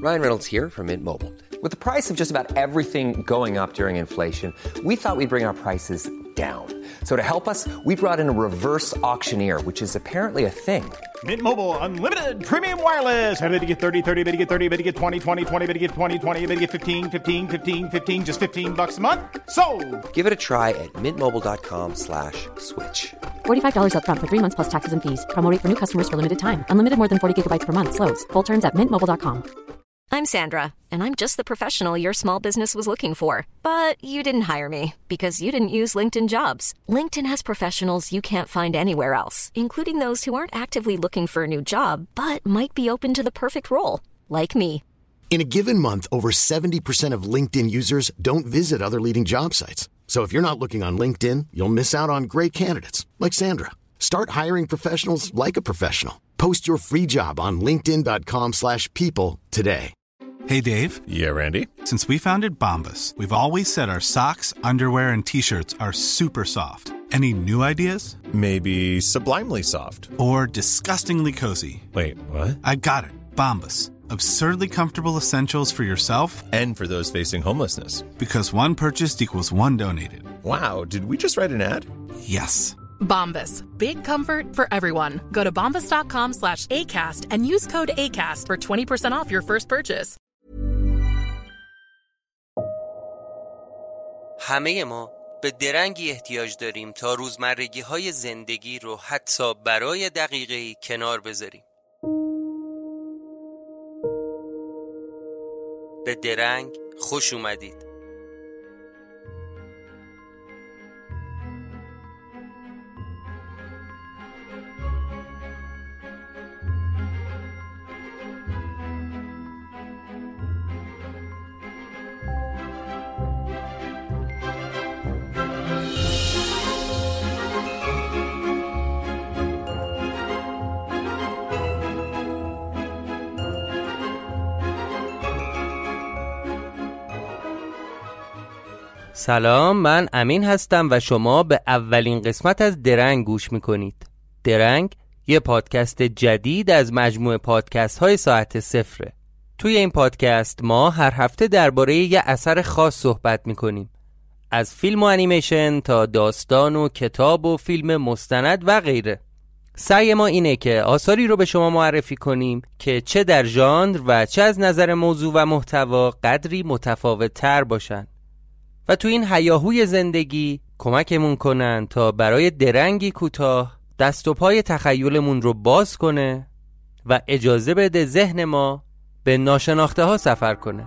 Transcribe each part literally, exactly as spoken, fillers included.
Ryan Reynolds here from Mint Mobile. With the price of just about everything going up during inflation, we thought we'd bring our prices down. So to help us, we brought in a reverse auctioneer, which is apparently a thing. Mint Mobile Unlimited Premium Wireless. How to get thirty, thirty, how to get thirty, how to get twenty, twenty, twenty, how to get twenty, twenty, how to get fifteen, fifteen, fifteen, fifteen, just fifteen bucks a month? Sold! Give it a try at mintmobile.com slash switch. forty-five dollars up front for three months plus taxes and fees. Promo rate for new customers for limited time. Unlimited more than forty gigabytes per month. Slows full terms at mint mobile dot com. I'm Sandra, and I'm just the professional your small business was looking for. But you didn't hire me because you didn't use LinkedIn Jobs. LinkedIn has professionals you can't find anywhere else, including those who aren't actively looking for a new job, but might be open to the perfect role, like me. In a given month, over seventy percent of LinkedIn users don't visit other leading job sites. So if you're not looking on LinkedIn, you'll miss out on great candidates, like Sandra. Start hiring professionals like a professional. Post your free job on linkedin.com slash people today. Hey, Dave. Yeah, Randy. Since we founded Bombas, we've always said our socks, underwear, and T-shirts are super soft. Any new ideas? Maybe sublimely soft. Or disgustingly cozy. Wait, what? I got it. Bombas. Absurdly comfortable essentials for yourself and for those facing homelessness. Because one purchased equals one donated. Wow, did we just write an ad? Yes. Bombas. Big comfort for everyone. Go to bombas.com slash ACAST and use code ACAST for twenty percent off your first purchase. همه ما به درنگی احتیاج داریم تا روزمرگی‌های زندگی رو حتی برای دقیقه‌ای کنار بذاریم. به درنگ خوش اومدید. سلام، من امین هستم و شما به اولین قسمت از درنگ گوش میکنید. درنگ یه پادکست جدید از مجموعه پادکست های ساعت صفره. توی این پادکست ما هر هفته درباره یه اثر خاص صحبت میکنیم، از فیلم و انیمیشن تا داستان و کتاب و فیلم مستند و غیره. سعی ما اینه که آثاری رو به شما معرفی کنیم که چه در ژانر و چه از نظر موضوع و محتوا قدری متفاوت تر باشن و تو این هیاهوی زندگی کمکمون کنن تا برای درنگی کوتاه دست و پای تخیلمون رو باز کنه و اجازه بده ذهن ما به ناشناخته ها سفر کنه.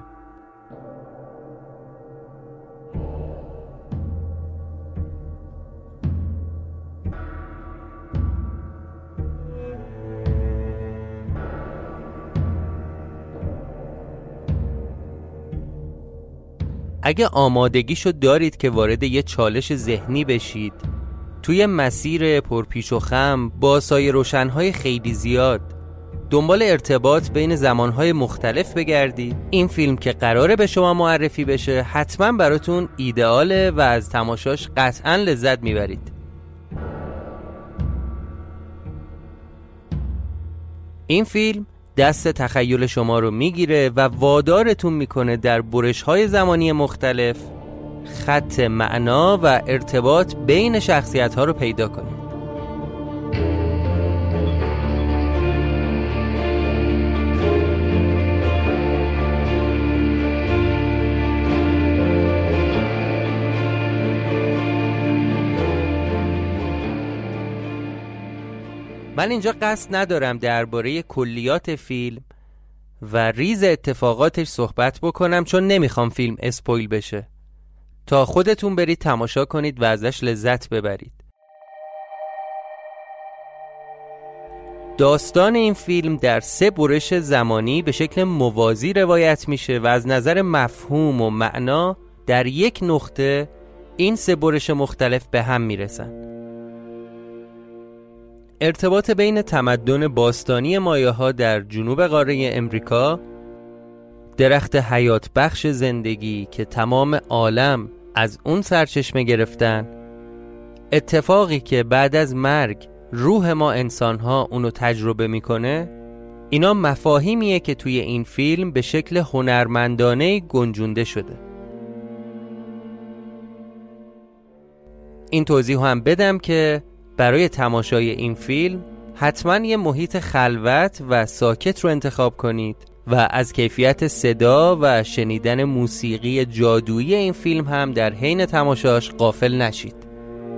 اگه آمادگیشو دارید که وارد یه چالش ذهنی بشید، توی مسیر پرپیچ و خم با سایه روشنهای خیلی زیاد دنبال ارتباط بین زمانهای مختلف بگردید، این فیلم که قراره به شما معرفی بشه حتما براتون ایدئاله و از تماشاش قطعا لذت میبرید. این فیلم دست تخیل شما رو میگیره و وادارتون میکنه در برش‌های زمانی مختلف خط معنا و ارتباط بین شخصیت‌ها رو پیدا کنید. من اینجا قصد ندارم درباره کلیات فیلم و ریز اتفاقاتش صحبت بکنم، چون نمیخوام فیلم اسپویل بشه تا خودتون برید تماشا کنید و ازش لذت ببرید. داستان این فیلم در سه برش زمانی به شکل موازی روایت میشه و از نظر مفهوم و معنا در یک نقطه این سه برش مختلف به هم میرسن. ارتباط بین تمدن باستانی مایاها در جنوب قاره امریکا، درخت حیات بخش زندگی که تمام عالم از اون سرچشمه گرفتن، اتفاقی که بعد از مرگ روح ما انسان‌ها اونو تجربه میکنه اینا مفاهیمیه که توی این فیلم به شکل هنرمندانه گنجونده شده. این توضیح هم بدم که برای تماشای این فیلم حتما یه محیط خلوت و ساکت رو انتخاب کنید و از کیفیت صدا و شنیدن موسیقی جادویی این فیلم هم در حین تماشاش غافل نشید.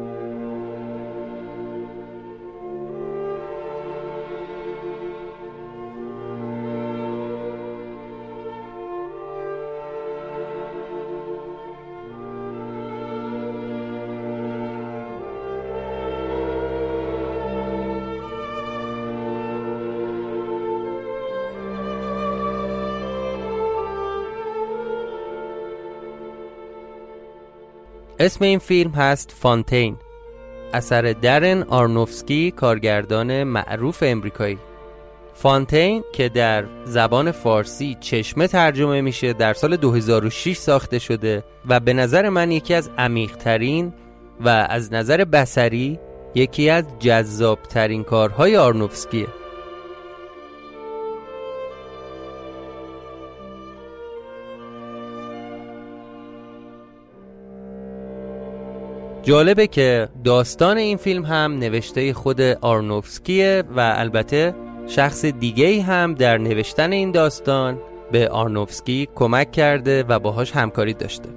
اسم این فیلم هست فانتین، اثر درن آرنوفسکی، کارگردان معروف امریکایی. فانتین که در زبان فارسی چشمه ترجمه میشه در سال دو هزار و شش ساخته شده و به نظر من یکی از عمیق‌ترین و از نظر بصری یکی از جذاب‌ترین کارهای آرنوفسکیه. جالبه که داستان این فیلم هم نوشته خود آرنوفسکیه و البته شخص دیگه‌ای هم در نوشتن این داستان به آرنوفسکی کمک کرده و باهاش همکاری داشته.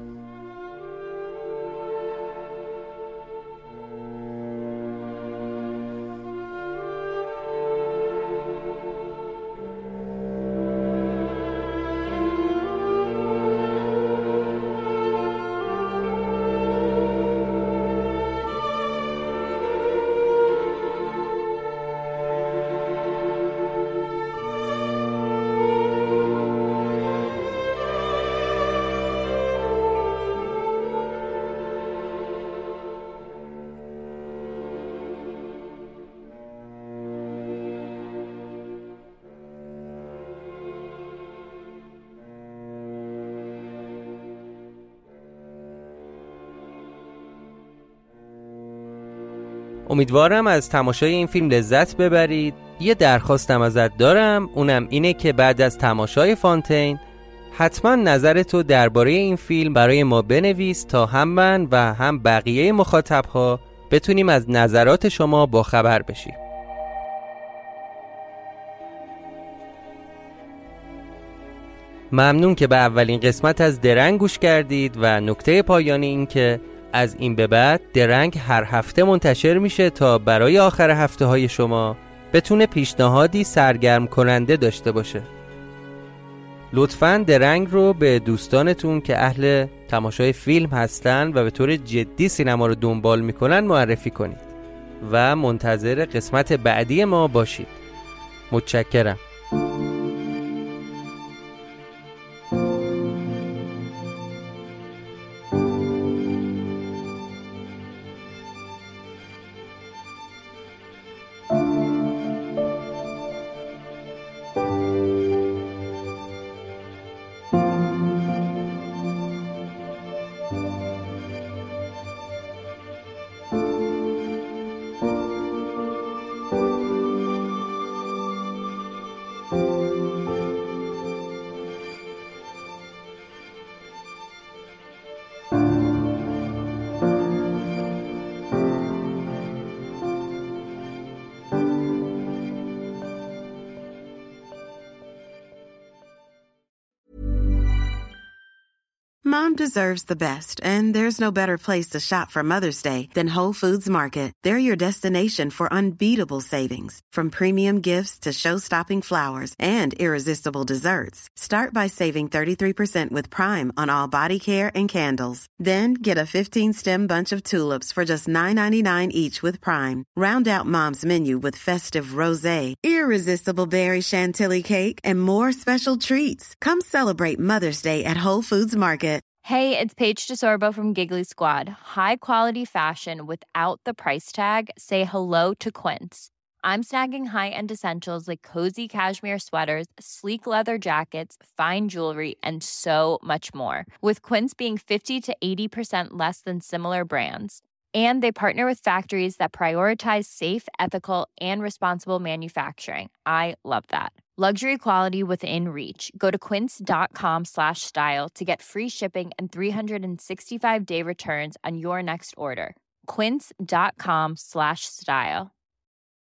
امیدوارم از تماشای این فیلم لذت ببرید. یه درخواستم ازت دارم، اونم اینه که بعد از تماشای فانتین حتما نظرتو درباره این فیلم برای ما بنویس تا هم من و هم بقیه مخاطبها بتونیم از نظرات شما باخبر بشیم. ممنون که به اولین قسمت از درنگ گوش کردید و نکته پایانی این که از این به بعد درنگ هر هفته منتشر میشه تا برای آخر هفته های شما بتونه پیشنهادی سرگرم کننده داشته باشه. لطفاً درنگ رو به دوستانتون که اهل تماشای فیلم هستن و به طور جدی سینما رو دنبال میکنن معرفی کنید و منتظر قسمت بعدی ما باشید. متشکرم. Mom deserves the best, and there's no better place to shop for Mother's Day than Whole Foods Market. They're your destination for unbeatable savings, from premium gifts to show-stopping flowers and irresistible desserts. Start by saving thirty-three percent with Prime on all body care and candles. Then get a fifteen-stem bunch of tulips for just nine ninety-nine each with Prime. Round out Mom's menu with festive rosé, irresistible berry chantilly cake, and more special treats. Come celebrate Mother's Day at Whole Foods Market. Hey, it's Paige DeSorbo from Giggly Squad. High quality fashion without the price tag. Say hello to Quince. I'm snagging high-end essentials like cozy cashmere sweaters, sleek leather jackets, fine jewelry, and so much more. With Quince being fifty to eighty percent less than similar brands. And they partner with factories that prioritize safe, ethical, and responsible manufacturing. I love that. Luxury quality within reach. Go to quince.com slash style to get free shipping and three sixty-five day returns on your next order. Quince.com slash style.